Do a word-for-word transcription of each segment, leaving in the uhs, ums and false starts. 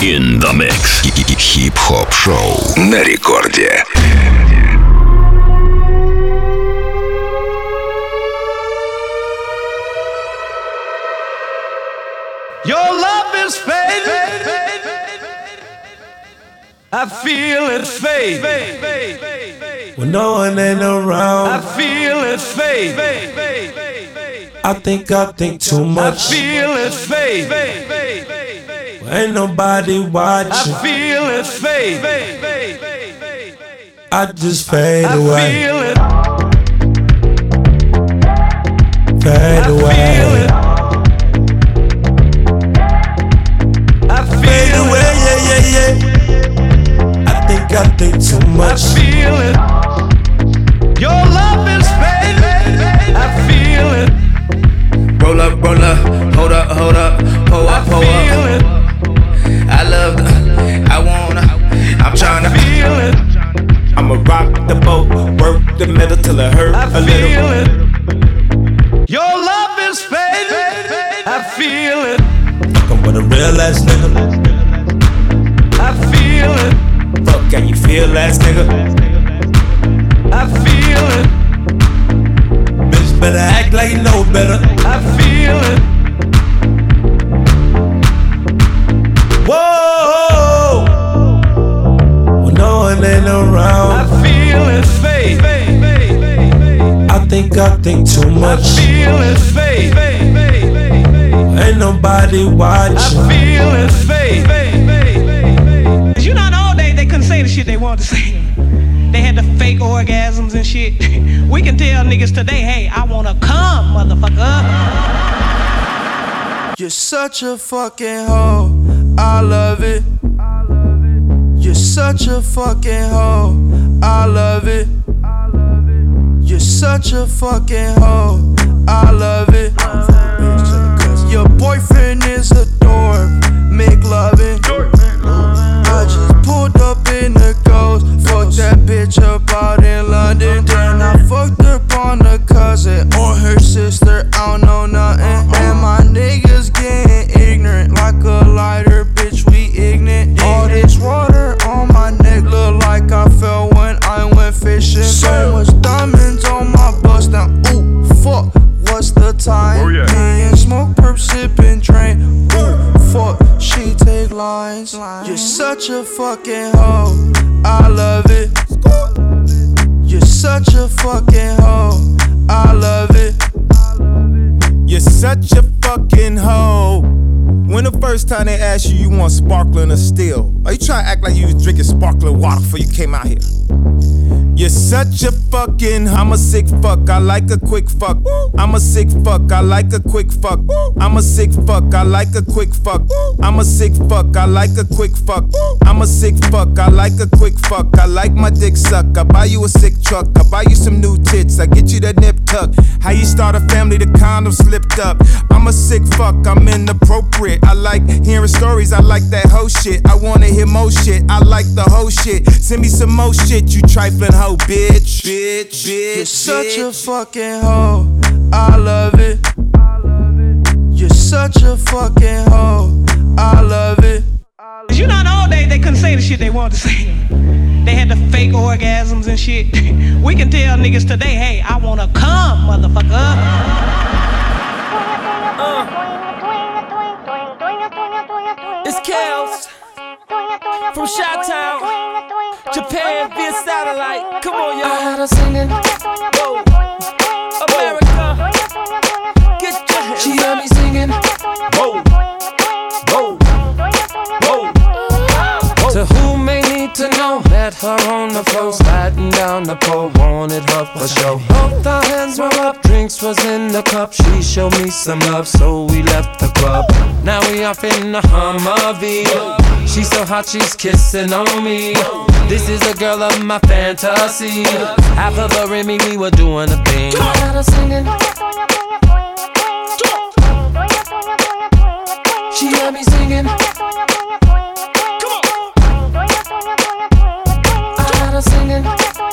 In the mix. Хип-хоп шоу на рекорде. Your love is fading. I feel it fade. When no one ain't around, I feel it fade. I think I think too much. I feel it fade. Ain't nobody watching. I feel it fade. I just fade I away. feel it. Fade I away. feel it. I Fade feel away, it. yeah, yeah, yeah. I think I think too I much. feel it. Your love is fading. I feel it. Roll up, roll up, hold up, hold up, pull I up, pull feel up. it. I love the, I wanna, I'm tryna Feel it. I'ma rock the boat, work the middle till it hurt I a little. feel it. Your love is fading. I feel it. Fuckin' with a real ass nigga. I feel it. Fuck, can you feel ass nigga? I feel it. Bitch better act like you know better. I feel it. Whoa! When no one ain't I around, feel it fade. I think I think too I much. feel it fade. Ain't nobody I watching. feel it fade. You know, in the old days they couldn't say the shit they wanted to say. They had the fake orgasms and shit. We can tell niggas today, hey, I wanna come, motherfucker. You're such a fucking hoe, I love it. You're such a fucking hoe, I love it. You're such a fucking hoe, I love it. Your boyfriend is a dork, make loving. I just pulled up in the ghost, fucked that bitch up out in London. Then I fucked up on a cousin or her sister, I don't know nothing. And my niggas getting ignorant like a lighter, bitch, we ignorant. All this water on my neck look like I fell when I went fishing. So much diamonds on my bust now, ooh, fuck, what's the time? Oh, yeah. Me and smoke, perp, sippin', drain, ooh, fuck, she take lines. You're such a fucking hoe, I love it. You're such a fucking hoe, I love it. You're such a fucking hoe. When the first time they asked you, you want sparkling or still? Are you trying to act like you was drinking sparkling water before you came out here? You're such a fucking, I'm a sick fuck, I like a quick fuck. I'm a sick fuck, I like a quick fuck. I'm a sick fuck, I like a quick fuck. I'm a sick fuck, I like a quick fuck. I'm a sick fuck, I like a quick fuck. I like my dick suck, I buy you a sick truck. I buy you some new tits, I get you that nip tuck. How you start a family, the condom slipped up. I'm a sick fuck, I'm inappropriate. I like hearing stories, I like that hoe shit. I wanna hear more shit, I like the hoe shit. Send me some more shit, you trifling hoe, bitch. Bitch, bitch, You're such a bitch. fucking hoe, I love it. You're such a fucking hoe, I love it. You know, in the old days they couldn't say the shit they wanted to say. They had the fake orgasms and shit. We can tell niggas today, hey, I wanna come, motherfucker. Uh. It's Kels from Chi-Town, Japan via satellite. Come on, y'all. I had her singing. Whoa. America, get your hands. She had me singing. Whoa. Whoa. Whoa. Whoa. To who may need to know, met her on the floor, sliding down the pole, wanted her for sure. Both our hands were up, drinks was in the cup. She showed me some love, so we left the club. Now we off in the Humvee. She's so hot, she's kissing on me. This is the girl of my fantasy. Half of her and me, we were doing a thing. I had her singing. She had me singing. I had her singing.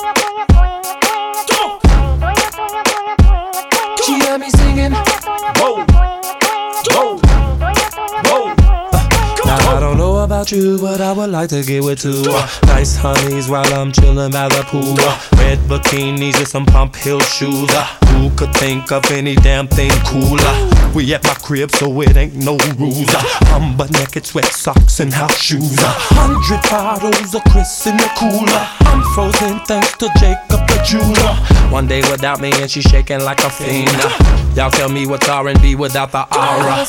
She had me singing. Whoa. Whoa. Whoa. Now I don't know about about you, but I would like to get with two. Uh, nice honeys while I'm chillin' by the pool. Uh, red bikinis and some pump heel shoes. Uh, who could think of any damn thing cooler? We at my crib, so it ain't no rules. Uh, I'm butt naked, sweat socks and house shoes. A uh, hundred bottles of Chris in the cooler. I'm frozen thanks to Jacob the jeweler. One day without me and she shaking like a fiend. Uh, y'all tell me what's R and B without the aura.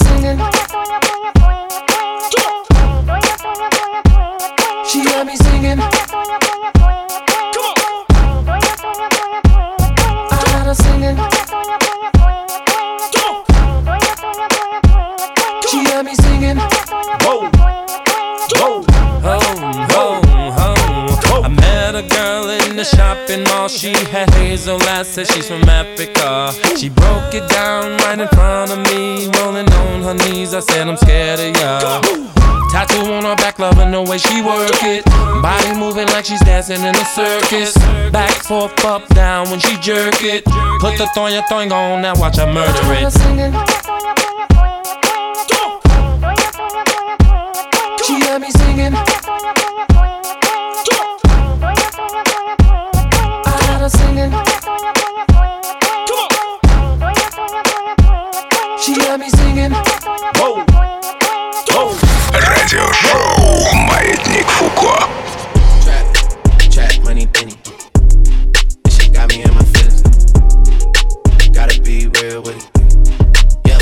She got me singing. Come on. I got her singing. Come on. She got me singing. Whoa, whoa, home, home, home. I met a girl in the shopping mall. She had hazel eyes, said she's from Africa. She broke it down right in front of me, rolling on her knees. I said I'm scared of ya. Tattoo on her back, loving the way she work it. Body moving like she's dancing in a circus. Back, forth, up, down when she jerk it. Put the thong thong on, now watch her murder it. She got me singing. I got her singing. She got me singing. Whoa. Радиошоу Маятник Фуко. Trap, trap, money, penny. This shit got me in my feelings. Gotta be real with it. Yeah.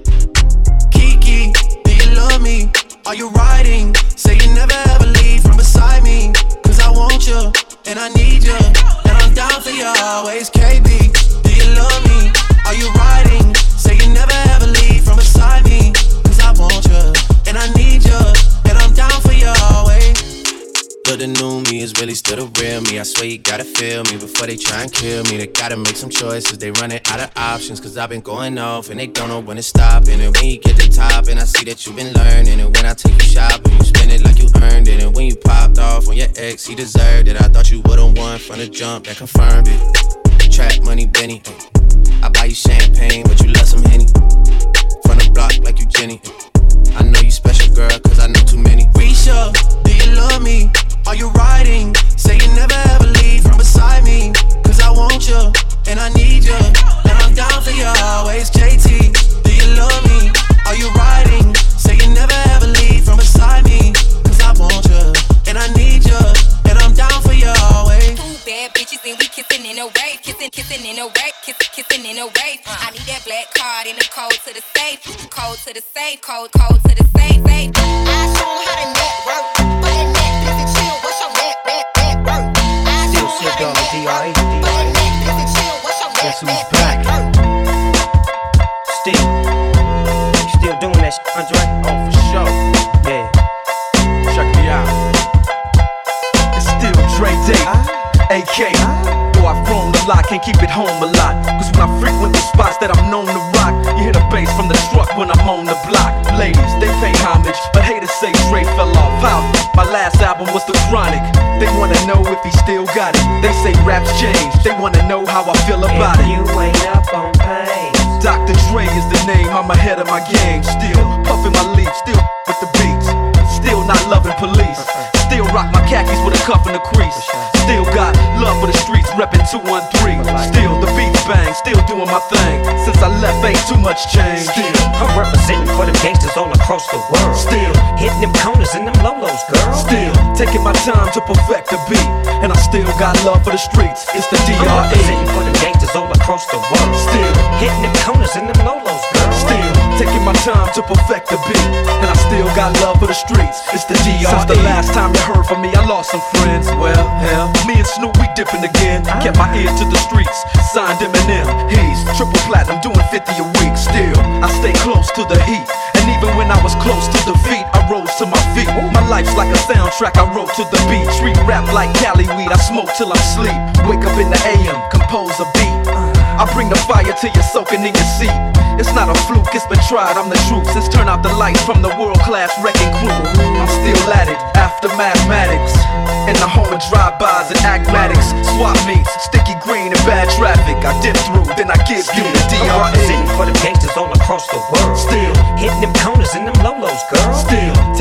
Kiki, do you love me? Are you riding? Say you never ever leave from beside me. Cause I want you, and I need you, and I'm down for you always. K B, do you love me? Are you riding? Say you never ever leave from beside me. Cause I want you, and I need you, and I'm down for you always. But the new me is really still the real me. I swear you gotta feel me before they try and kill me. They gotta make some choices, they running out of options. Cause I've been going off and they don't know when to stop. And when you get to the top and I see that you've been learning. And when I take you shopping, you spend it like you earned it. And when you popped off on your ex, he deserved it. I thought you would've won from the jump, that confirmed it. Trap money, Benny. I buy you champagne, but you love some Henny. From the block like you Jenny. I know you special, girl, cause I know too many. Risha, do you love me? Are you riding? Say you never ever leave from beside me. Cause I want you, and I need you, and I'm down for you always. J T, do you love me? Are you riding? Say you never ever leave from beside me. Cause I want you, and I need you, and I'm down for you always. Two bad bitches and we kissing in a way. Kissing, kissing in a way. Kissing, kissing in a way. I need that black card in the code to the safe. Code to the safe. Code, code to the safe. safe. I show 'em how to network. But that net, listen, chill. What's your net, net, net work? I show 'em how to network. But that net, listen, chill. What's your net, net, net work? Still, you still doing that shit, Andre? Oh, for sure. Yeah. Check me out. It's still Dre Day, A K. Though I've grown a lot, can't keep it home a lot. Cause when I frequent the spots that I'm known to rock, you hear the bass from the truck when I'm on the block. Ladies, they pay homage, but haters say Dre fell off. How? My last album was The Chronic. They wanna know if he still got it. They say raps change, they wanna know how I feel about if it. You ain't up on pain. Doctor Dre is the name, I'm ahead of my game. Still puffin' my leaf, still with the beats. Still not loving police. Still rock my khakis with a cuff in the crease. Still got love for the streets, reppin' two one three. Still the beats bang, still doing my thing. Since I left, ain't too much change. Still, I'm representing for them gangsters all across the world. Still hitting them corners and them lolos, girl. Still taking my time to perfect the beat. And I still got love for the streets. It's the D R E. I'm representing for them gangsters all across the world. Still hitting them corners and them lolos, girl. Still taking my time to perfect the beat. And I still got love for the streets. It's the D R E. Since the last time you heard from me, I lost some friends. Well, hell, me and Snoop, we dipping again. Kept my ear to the streets, signed Eminem. He's triple platinum, doing fifty a week. Still, I stay close to the heat. And even when I was close to defeat, I rose to my feet. My life's like a soundtrack, I wrote to the beat. Street rap like Cali weed, I smoke till I sleep. Wake up in the A M, compose a beat. I bring the fire till you're soaking in your seat. It's not a fluke, it's been tried, I'm the truth. Since turn out the lights from the world-class wrecking crew, I'm still at it, after mathematics. In the home of drive-bys and acmatics. Swap meets, sticky green and bad traffic. I dip through, then I give you the D R E. I'm representing for them gangsters all across the world. Still hitting them corners and them lolos, girl. Still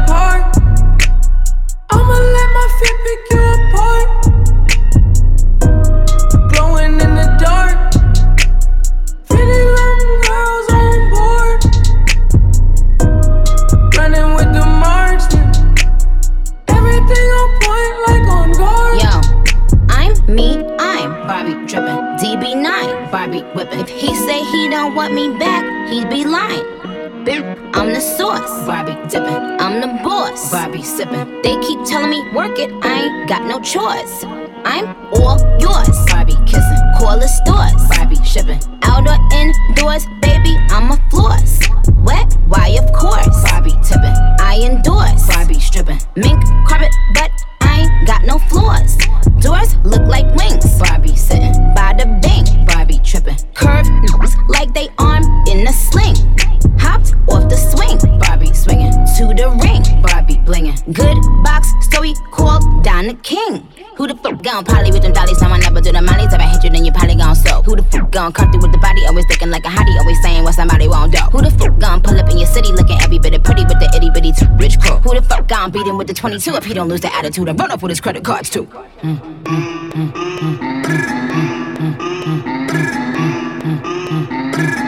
sauce. Barbie dipping, I'm the boss. Barbie sipping. They keep telling me work it, I ain't got no choice. I'm all yours. Barbie kissing, call the stores. Barbie shipping, out or indoors, baby, I'm a floss. Wet, why of course. Barbie tipping, I endorse. Barbie stripping, mink carpet, but I ain't got no floors. Doors look like wings. Barbie sitting by the bank. Barbie tripping, curved looks like they arm in a sling. Hopped off the swing. Barbie swinging to the ring. Barbie blinging, good box story called Don the King. Who the fuck gon' poly with them dollies? Time I never do the mollies. If I hit you, then you probably gon' soak. Who the fuck gon' come through with the body? Always looking like a hottie, always saying what somebody won't do. Who the fuck gon' pull up in your city looking every bit of pretty with the itty bitty too rich crew? Who the fuck gon' beat him with the twenty-two if he don't lose the attitude and run up with his credit cards too? Mm, mm, mm, mm, mm, mm, mm, mm, mm.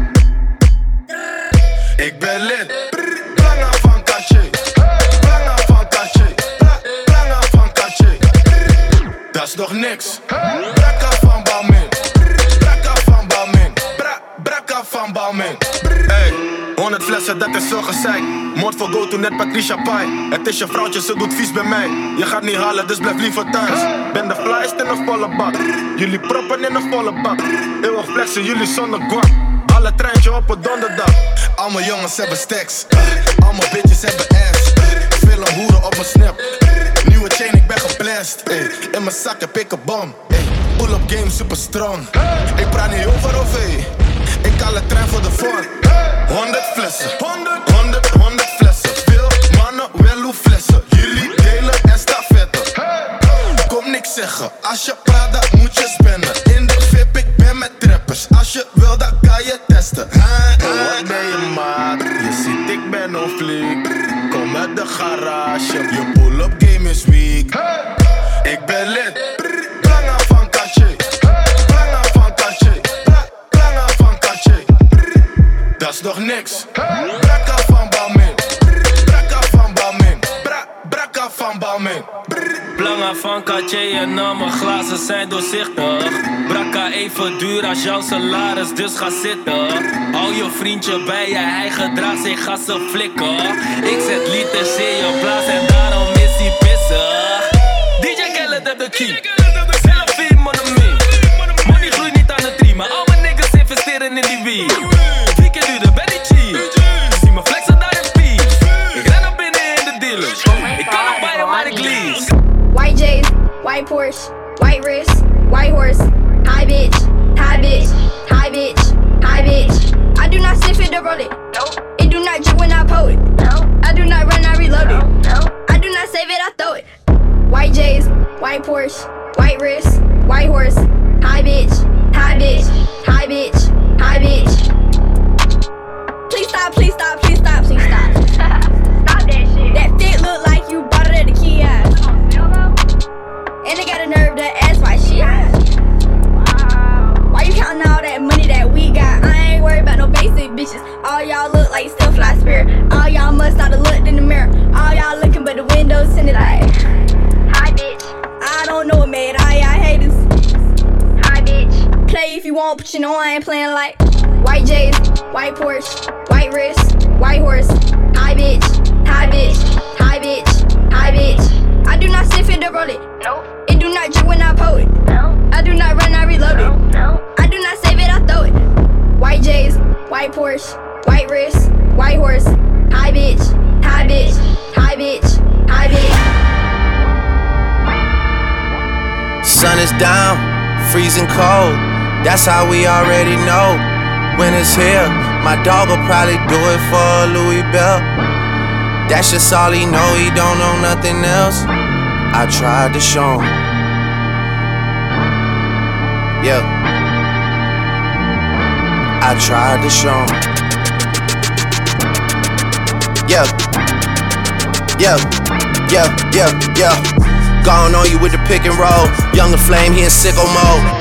Ik ben lid, belangen van Katje, belangen van Katje, belangen van Katje. Dat is nog niks. Brakka van Balmin, brakka van Balmin, bra, brakka van Balmin. Hey, honderd flessen, dat is zo gezeik. Moord voor go to net Patricia Pai. Het is je vrouwtje, ze doet vies bij mij. Je gaat niet halen, dus blijf liever thuis. Ben de flyest in een volle bak. Jullie proppen in een volle bak. Eeuwig flexen, jullie zonder guap. Alle treintje op een donderdag. Allemaal jongens hebben stacks. Allemaal bitches hebben ass. Veel een hoeren op mijn snap. Nieuwe chain, ik ben geblest. In mijn zak heb ik een bom. Pull-up game super strong. Ik praat niet over O V. Ik haal een trein voor de vorm. Honderd flessen. Honderd, honderd, honderd flessen. Veel mannen, wel hoe flessen. Jullie delen en stafetten. Kom niks zeggen. Als je praat, dan moet je spenden. In de V I P, ik ben met trappers. Als je wil, dan kan je testen. Wat ben je maat? Je ziet, ik ben on fleek. Kom uit de garage. Je pull-up game is weak. Ik ben lid. Belangen van Katje. Belangen van Katje. Belangen van Katje. Dat is nog niks. Brakka van Balmin. Brakka van Balmin. Bra, brakka van Balmin. Belangen van Katje en al mijn glazen zijn doorzichtig. Brakka even duur als jouw salaris, dus ga zitten. Hou je vriendje bij je, hij gedraagt zich, ga ze flikken. Ik zet liters in je blaas en daarom is hij pissig. D J Khaled heb de key, selfie monomie. Money groeit niet aan de tree, maar al mijn niggas investeren in die weed. Vier keer duurder, ben niet cheap. Zie me flexen daar in peace. Ik ren naar binnen in de dealers. Ik kan nog bij je, maar ik lease. White J's, white Porsche, white wrist, white horse. Hi bitch, hi bitch, hi bitch, hi bitch. I do not sniff it or roll it. Nope. It do not drip when I pull it. No. I do not run, I reload it. No. I do not save it, I throw it. White J's, white Porsche, white wrist, white horse. Hi bitch, hi bitch, hi bitch, hi bitch. Please stop, please stop, please stop, please stop. Stop that shit. That fit look like you bought it at the kiosk. And they got a nerve to ask why she asked. Wow. Why you counting all that money that we got? I ain't worried about no basic bitches. All y'all look like still fly spirit. All y'all must not have looked in the mirror. All y'all looking but the windows tinted like. Hi bitch. I don't know what made all y'all haters. Hi bitch. Play if you want, but you know I ain't playing like. White J's, white Porsche, white wrist, white horse. Hi bitch, hi bitch, hi bitch, hi bitch. I do not sniff it or roll it. Nope. It do not drip when I pull it. No. I do not run, I reload it. No. I do not save it, I throw it. White J's, white Porsche, white wrist, white horse. Hi bitch, hi bitch, hi bitch, hi bitch. Sun is down, freezing cold. That's how we already know. When it's here, my dog will probably do it for Louis Bell. That's just all he know, he don't know nothing else. I tried to show him. Yeah. I tried to show him. Yeah. Yeah. Yeah, yeah, yeah. Gone on you with the pick and roll. Younger Flame, he in sicko mode.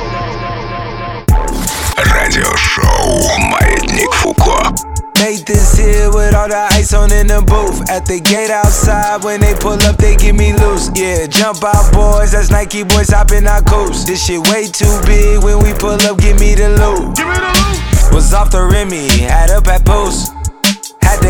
Радиошоу «Маятник Фуко». Made this here with all the ice on in the booth. At the gate outside, when they pull up, they give me loose. Yeah, jump out boys, that's Nike boys hopping our coast. This shit way too big, when we pull up, give me the loot. Give me the loot. Was off the Remy, had up at post. Had to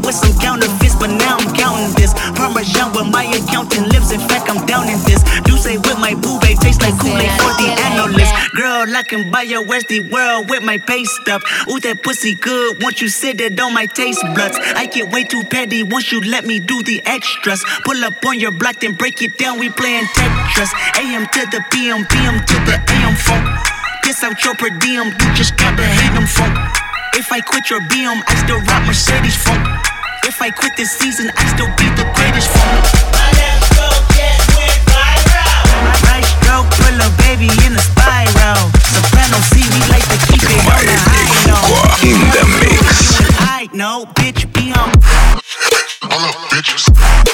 with some counterfeits, but now I'm counting this. Parmesan where my accountant lives, in fact I'm down in this. Do say with my boo babe, tastes like Kool-Aid for the analyst. Girl, I can buy your Westie world with my pay stuff. Ooh, that pussy good, once you sit it on my taste buds. I get way too petty once you let me do the extras. Pull up on your block, then break it down, we playing Tetris. A M to the P M, P M to the A M funk. Piss out your per diem, you just gotta hate them funk. If I quit your B M, I still rock Mercedes funk. If I quit this season, I still be the greatest funk. My left stroke just went viral. My right stroke put a baby in a spiral. Soprano see me like to keep it on the high note. In the mix. I know, bitch, be on. All up, bitches.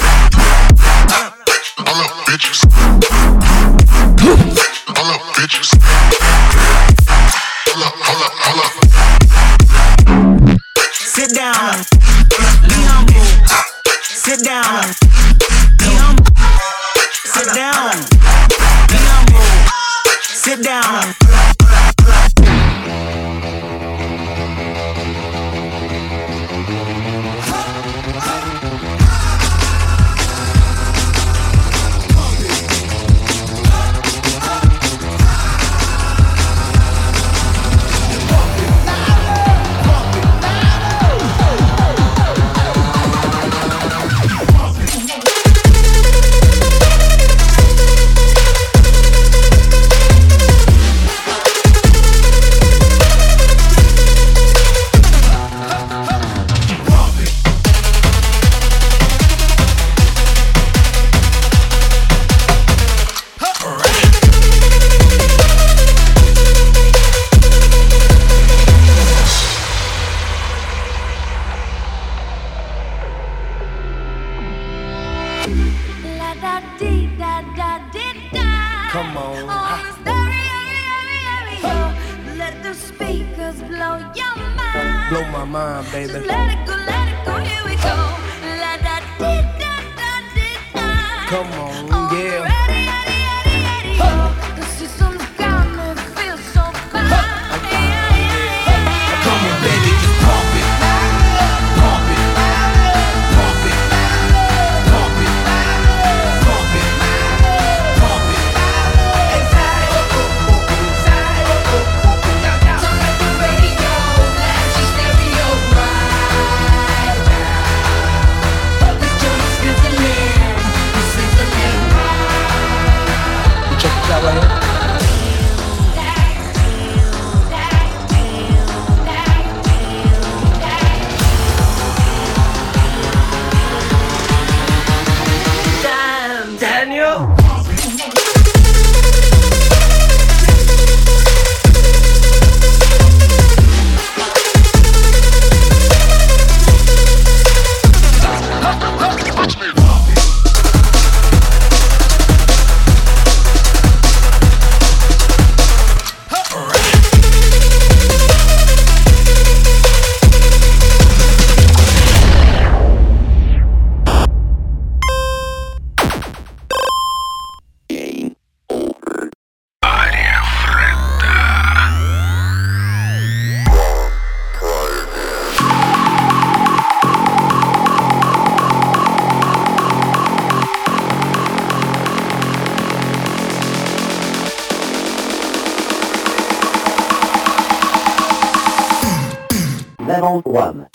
All up, bitches. All up, bitches. Hold up, hold up, hold up. Sit down, be humble. Sit down, be humble. Sit down, be humble. Sit down. Come on. On the stereo, let the speakers blow your mind. Blow my mind, baby. Just let it go, let it go, here we go. La da dee da da dee da. Come on, on yeah. The radio, radio, radio. The system's got me feel so fine. Yeah, yeah, yeah. Come on, baby, just pump it. Pump it. Pump it. Pump it. Pump it. Pump it. Turn up the radio, blast your stereo right now. This joint's sizzling, sizzling. Check it out right here. Damn, Daniel. Level one.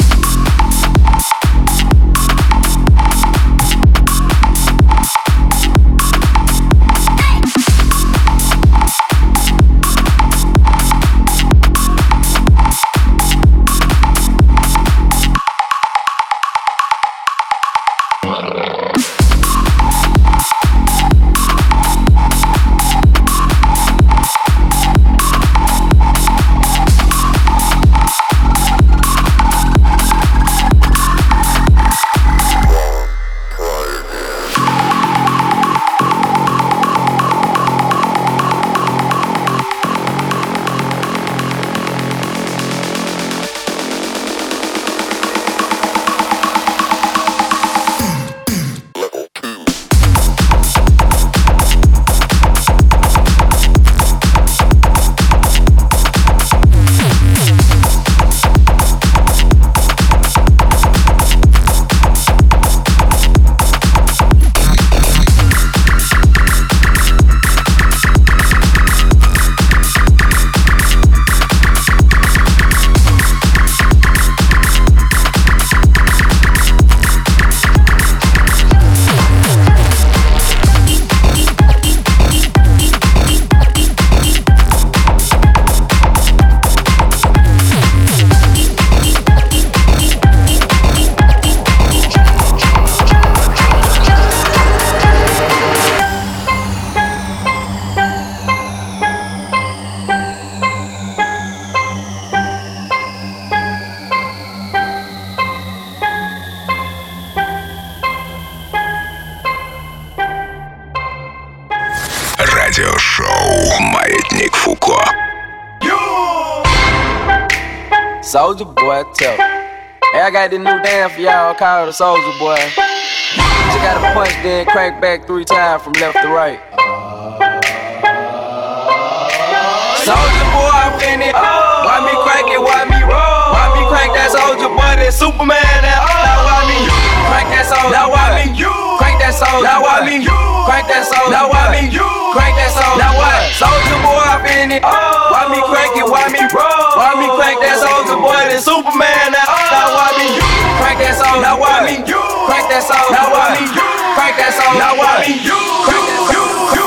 Радиошоу «Маятник Фуко». Soulja Boy, tell me. Hey, I got this new dance for y'all called the Soulja Boy. You gotta punch, then crank back three times from left to right. Soulja Boy, I'm in it. Why me crank it? Why me roll? Why me crank that Soulja Boy? That Superman, that oh. Now why me crank that Soulja? Now why me crank that Soulja? Now why me crank that Soulja? Now why me crank that Soulja? Now why Soulja Boy, I'm in it. Why me crank it? Why me roll? Why me crank that Soulja Boy? That Superman, that oh. Now why me crank that Soulja? Now why me crank that Soulja? Now why me crank that Soulja? Now why me crank that Soulja?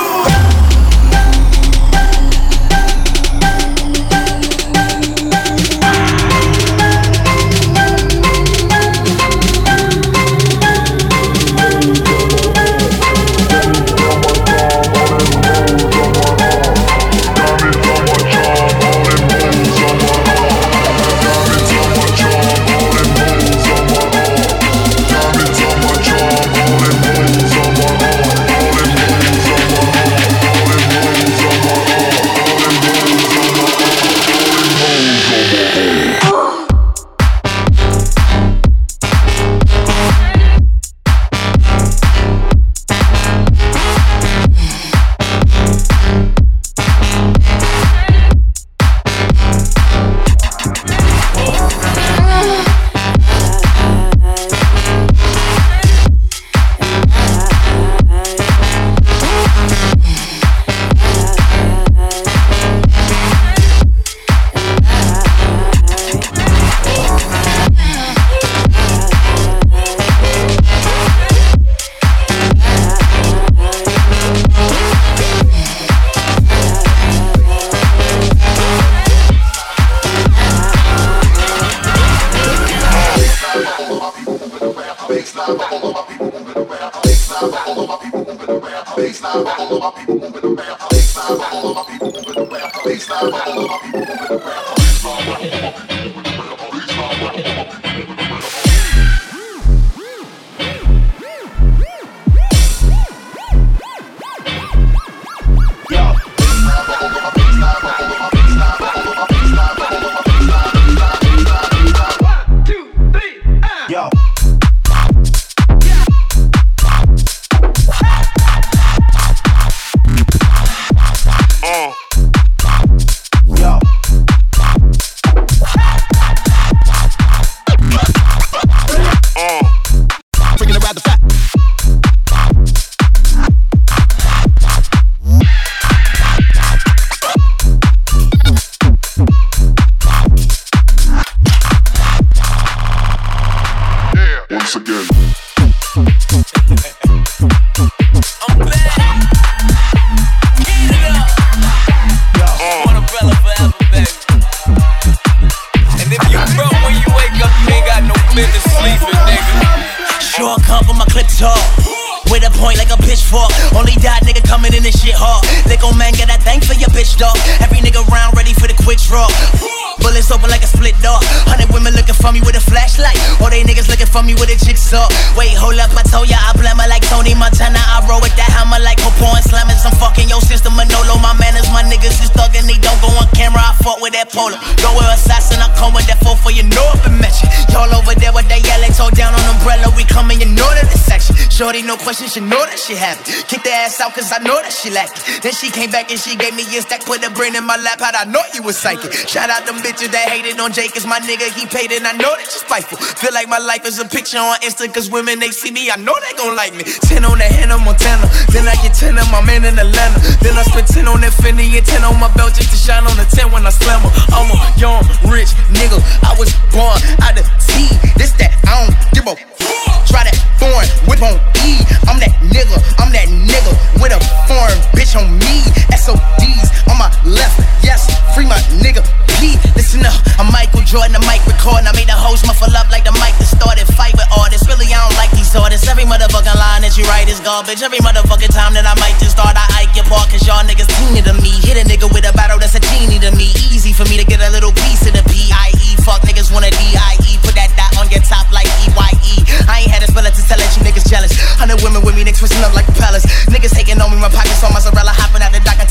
Shorty, no question, she know that she happy. Kick the ass out, cause I know that she like it. Then she came back and she gave me a stack, put a brain in my lap, how'd I know you was psychic? Shout out them bitches that hated on Jake, cause my nigga, he paid and I know that you spiteful. Feel like my life is a picture on Insta, cause women, they see me, I know they gon' like me. ten on that Hannah Montana, then I get ten on my man in Atlanta. Then I spend ten on that Fendi and ten on my belt just to shine on the ten when I slam her. I'm a young, rich nigga, I was born out of T. This that, I don't give a try that foreign whip on E. I'm that nigga, I'm that nigga with a foreign bitch on me. S O Ds on my left, yes, free my nigga P. Listen up, I'm Michael Jordan, the mic recording. I made the host muffle up like the mic that started fight with artists. Really, I don't like these artists. Every motherfucking line that you write is garbage. Every motherfucking time that I might just start, I ike your part, cause y'all niggas teeny to me. Hit a nigga with a battle that's a genie to me. Easy for me to get a little piece of the P I E. Fuck niggas wanna D I E. Put that dot on your top like E Y E. I ain't had a spell to tell that you niggas jealous. Hundred women with me, they twisting up like a palace. Niggas taking on me, my pockets on mozzarella. Hopping out the dock, I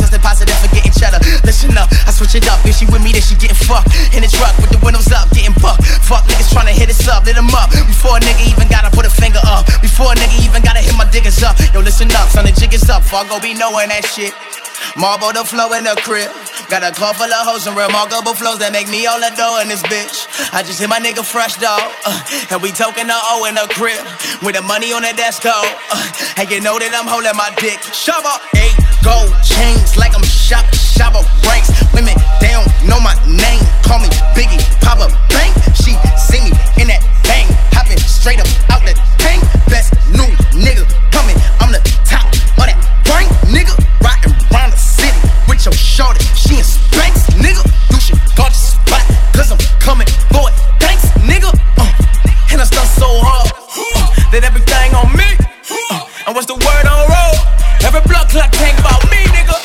Fargo be knowing that shit. Marble the flow in the crib. Got a car full of hoes and remarkable flows that make me all adore in this bitch. I just hit my nigga fresh, dog. Uh, and we token the O in the crib. With the money on the desk, though. Uh, and you know that I'm holding my dick. Shove up, eight gold chains like I'm shop, shop up ranks. Women, they don't know my name. Call me Biggie, Papa Bang. She see me in that bang. Hopping straight up out the tank. Best new nigga coming. I'm the top of that rank, nigga. Riding around the city with your shorty. She in Spanx, nigga. You should go to spot, cause I'm coming for it. Thanks, nigga. Uh, and I stunt so hard uh, that everything on me. Uh, and what's the word on road? Every blood clock came about me, nigga.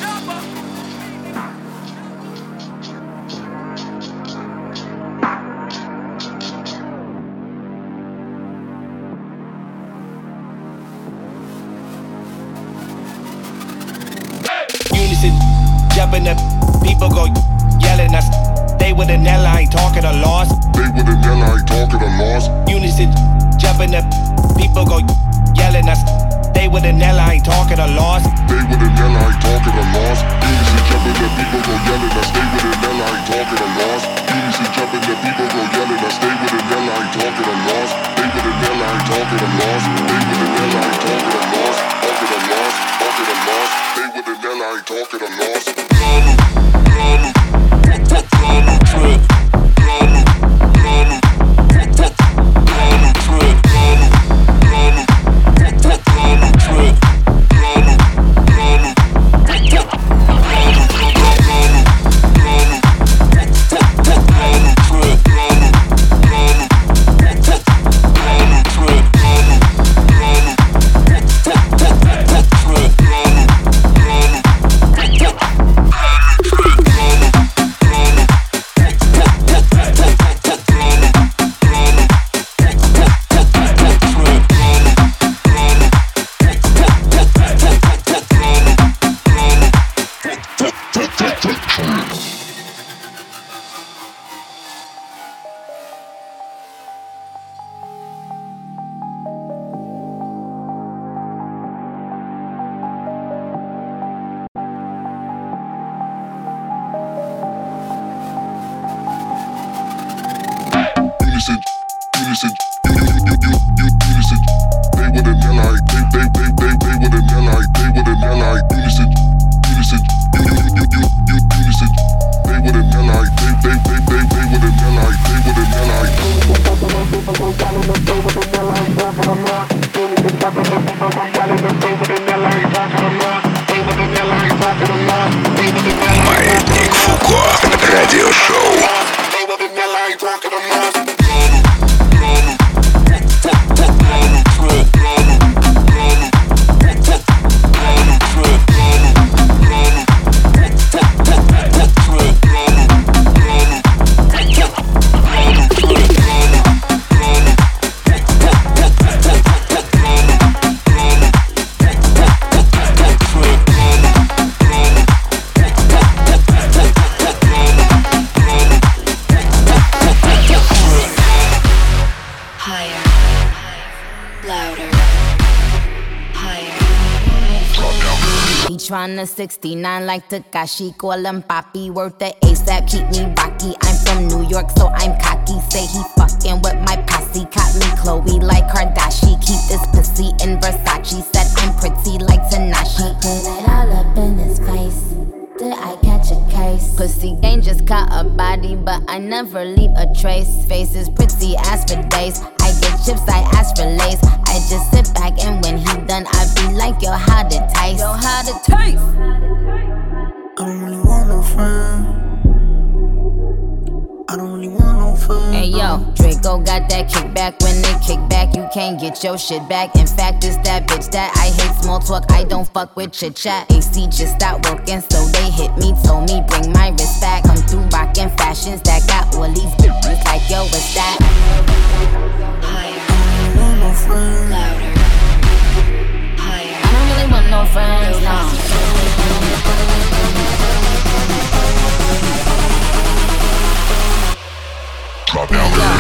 Unison, jumping up, people go yelling us. Stay with an L, I ain't talking a loss. Stay with an L, I ain't talking a loss. Unison, jumping up, people go yelling us. Stay with an L, I ain't talking a loss. Stay with an L, I ain't talking a loss. Unison, jumping up, people go yelling us. Stay with an L, I ain't talking a loss. Unison, jumping up, people go yelling us. Stay with an L, I ain't talking a loss. Stay with an L, I ain't talking a loss. Stay with an L, I ain't talking a loss. Talking a loss, talking a loss. Stay with an L, I ain't talking a loss. Trip. Маятник Фуко. Радиошоу. Tryna sixty-nine like Takashi, call him Papi, worth the ASAP, keep me rocky. I'm from New York, so I'm cocky. Say he fucking with my posse, caught me Chloe like Kardashian. Keep this pussy in Versace, said I'm pretty like Tanashi. Put it all up in his face. Did I catch a case? Pussy gang just caught a body, but I never leave a trace. Face is pretty as for days. I get chips, I ask for lace. I just sit back and when he done, I be like, yo, how to taste? Yo, how to taste? I don't really want no friend. I don't really want no friend. Hey yo, Draco got that kickback. When they kick back, you can't get your shit back. In fact, it's that bitch that I hate small talk. I don't fuck with chit chat. A C just stopped working, so they hit me, told me bring my wrist back. Come through rockin' fashions that got all these bitches like yo, what's that? Higher. I don't really want no friends. Louder. Higher. I don't really want no friends, no. Drop down, baby.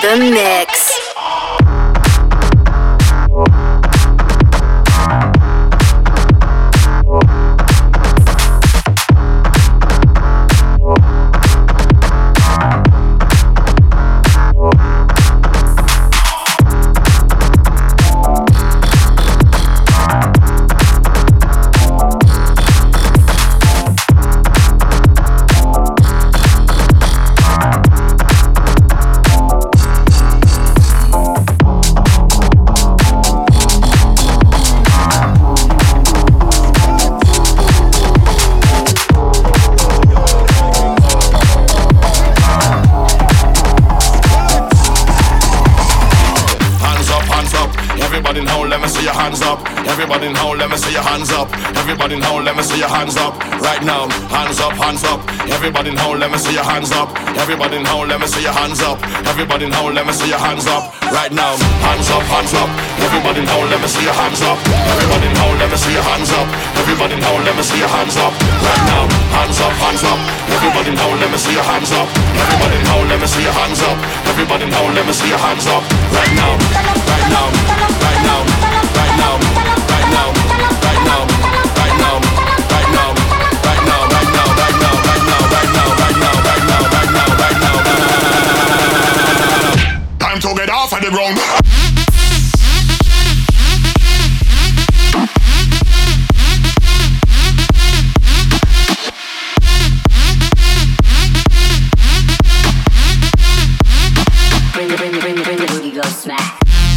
the mix. Everybody in hole, let me see your hands up. Everybody in hole, let me see your hands up. Right now, hands up, hands up. Everybody in hole, let me see your hands up. Everybody in hole, let me see your hands up. Everybody in hole, let me see your hands up. Right now, hands up, hands up. Everybody in hole, let me see your hands up. Everybody in hole, let me see your hands up. Everybody in hole, let me see your hands up. Right now, hands up, hands up. Everybody in hole, let me see your hands up. Everybody in hole, let me see your hands up. Everybody in hole, let me see your hands up. Right now, right now, right now, right now, right now, right now, right now, right now, right now, right now, right now, right now, right now, right now, right now, right now, right now, right now. Time to get off of the ground. Bring it, bring it, bring it, bring it, booty go smack.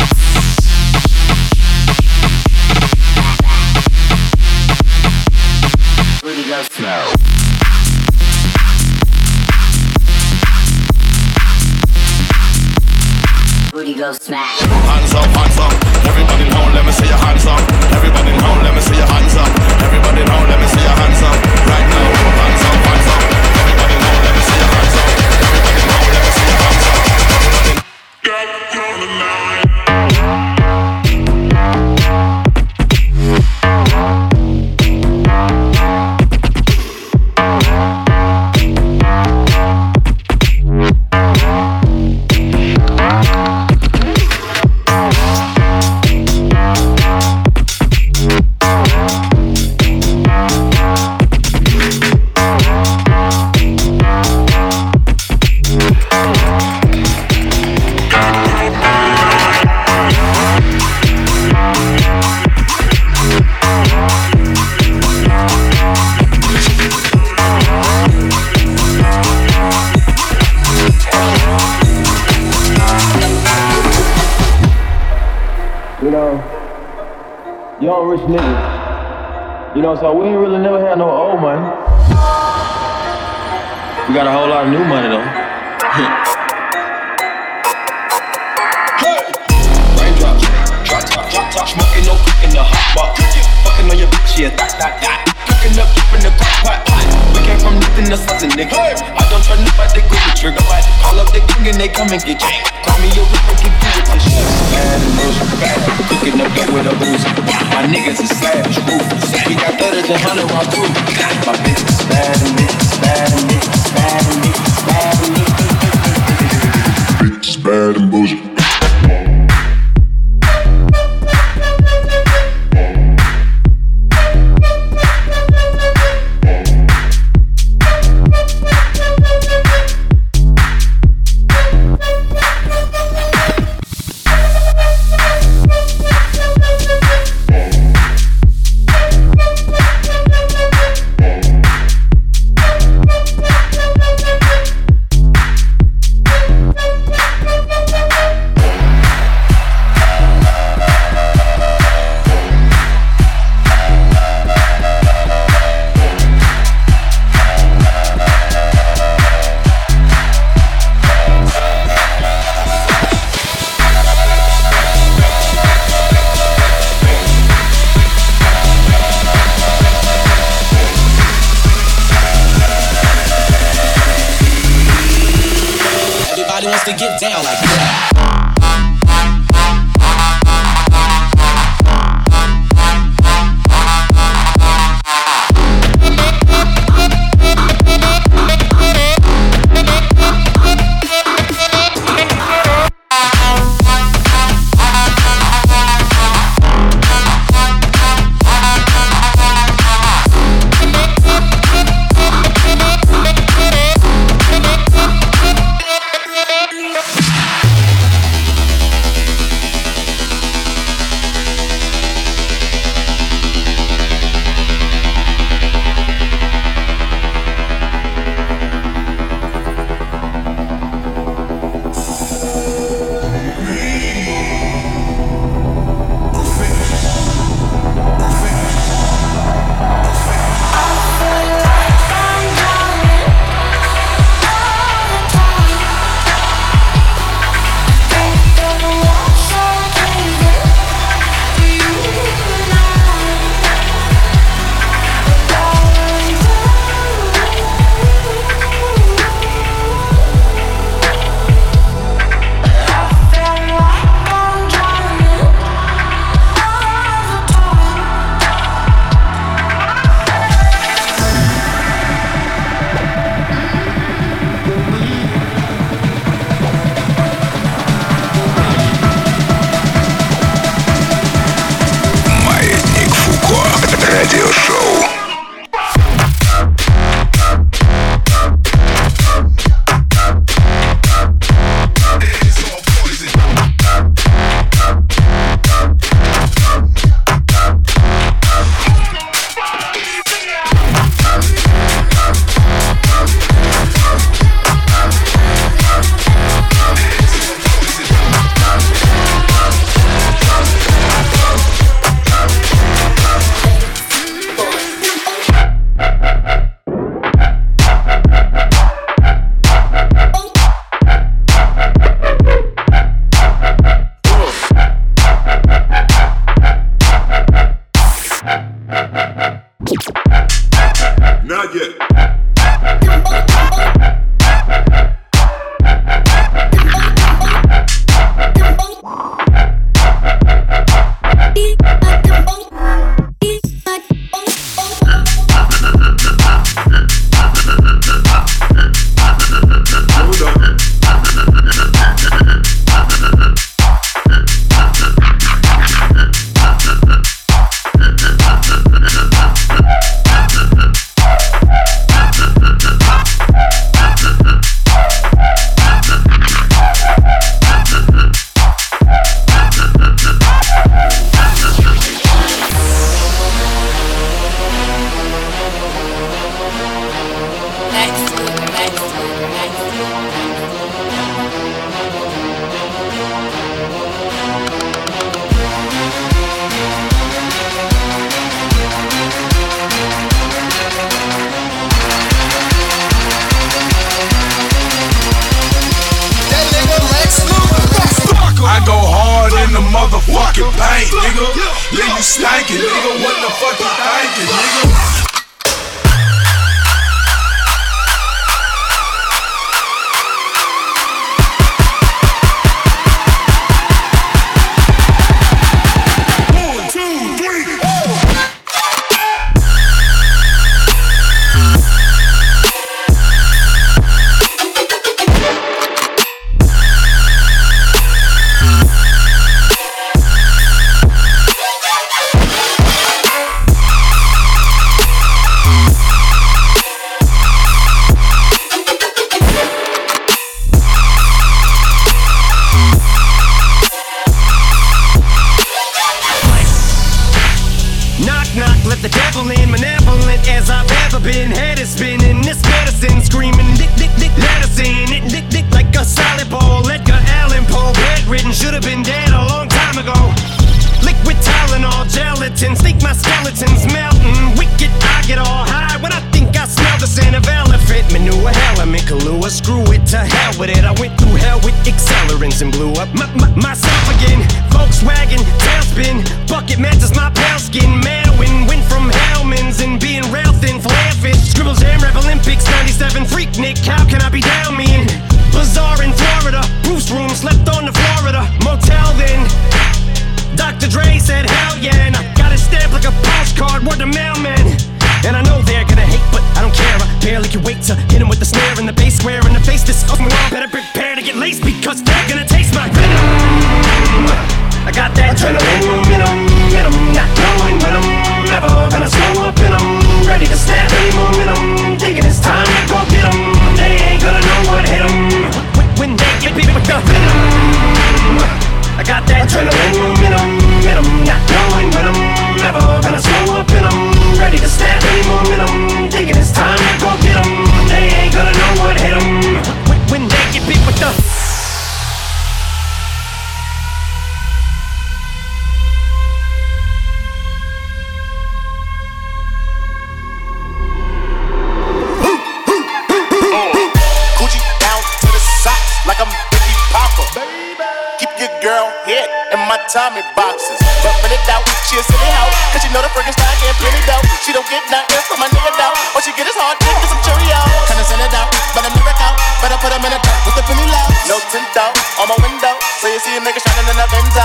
Booty go smack. Booty go smack. Hands up, hands up. Everybody in home, let me see your hands up. Everybody in home, let me see your hands up. Everybody in home, let me see your hands up. Right now, hands up, hands up. Everybody in home, let me see your hands up. Everybody in home, let me see your hands up. Get on the line. Young rich niggas, you know, so we ain't really never had no old money. We got a whole lot of new money though. Hey! Raindrops, drop top, drop top, smoking, no cooking, the hot pot. Fucking on your bitch, yeah, that, that, that. Cooking up, in the crock pot. We came from nothing to something, nigga. I don't try nobody, go the trigger. Call up the king and they come and get you. Call me your whip and get you with this shit. Bad and bullshit, bad. Cooking up dope with a booze. My niggas is savage, ruthless. We got thudders and hundred round too. My bitch is bad and bitch is bad and bitch is bad and bitch is bad and bitch is bad. Bitch is bad and bullshit. To get down like that. You stankin', nigga, what the fuck you thinking, nigga? Tommy boxes, but when it out, she a silly hoe. Cause she know the friggin' style getting plenty dough. She don't get nothing from my nigga though. All she get is hard dick and some Cheerios. Kinda send it out, but I never out. Better put him in a dirt with the penny low. No tint out on my window, so you see a nigga shining in a Benzo.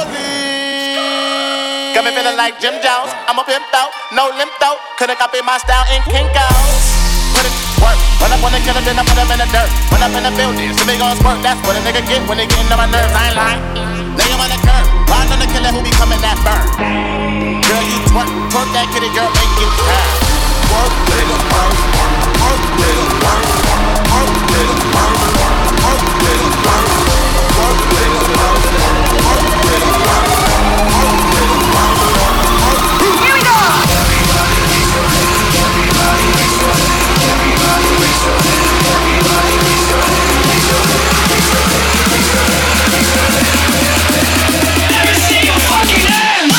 Police got me feeling like Jim Jones. I'm a pimp out, no limp out. Couldn't copy my style in Kinko's. Put it work, run up on the killer, then I put him in the dirt. Run up in the building, so they gon' squirt. That's what a nigga get when they get into my nerves. I ain't lying. Lay him on the curb, ride on the killer who be coming that burn. Girl, you twerk, twerk that kitty, girl, make it turn. Work, nigga, work, work, nigga, work, work, nigga, work, work, nigga, work, work, nigga, work, work, nigga, work, work, nigga, work. Here we go. Everybody makes your head, everybody makes your head, everybody makes your head, everybody makes your head, makes your head, makes your head, makes your head, makes your head. Let me see your fucking hands!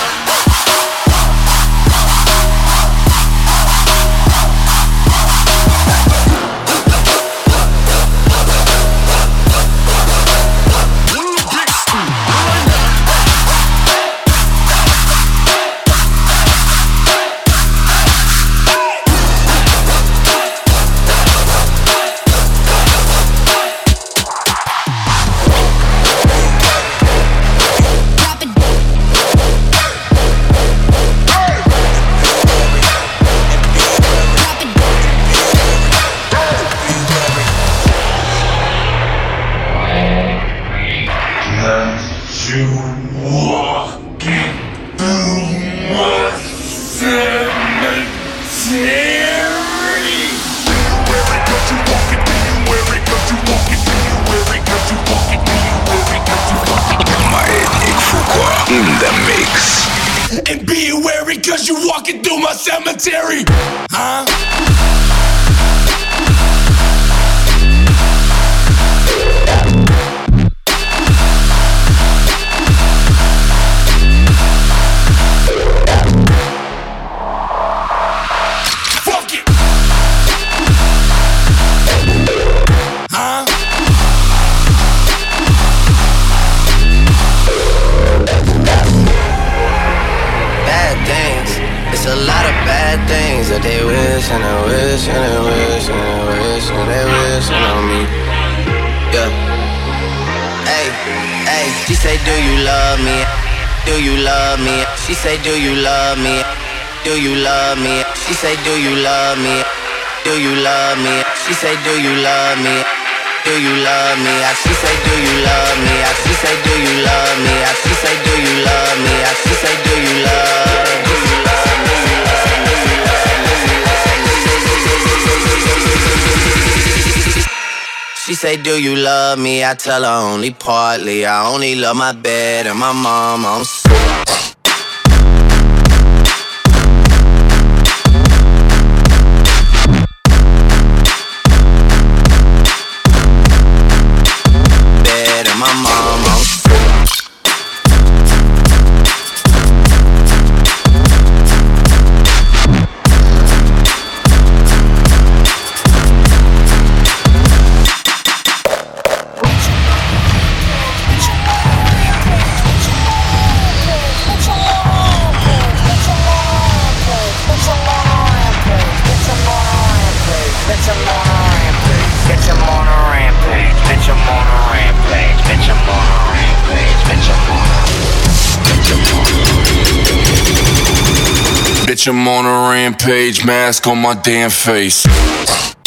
And be wary cause you walking through my cemetery. Huh? bad things that they wish and they wish and they wish and they wish and they wish on me. Yeah. Hey, hey, she say, do you love me? Do you love me? She say, do you love me? Do you love me? She say, do you love me? Do you love me? She say, do you love me? Do you love me? She say, do you love me? She say, do you love me? She say, do you love me? She say, do you love me? She say, do you love me? I tell her only partly. I only love my bed and my mom. I'm so bed and my mom. I'm so Bitch, I'm on a rampage, mask on my damn face.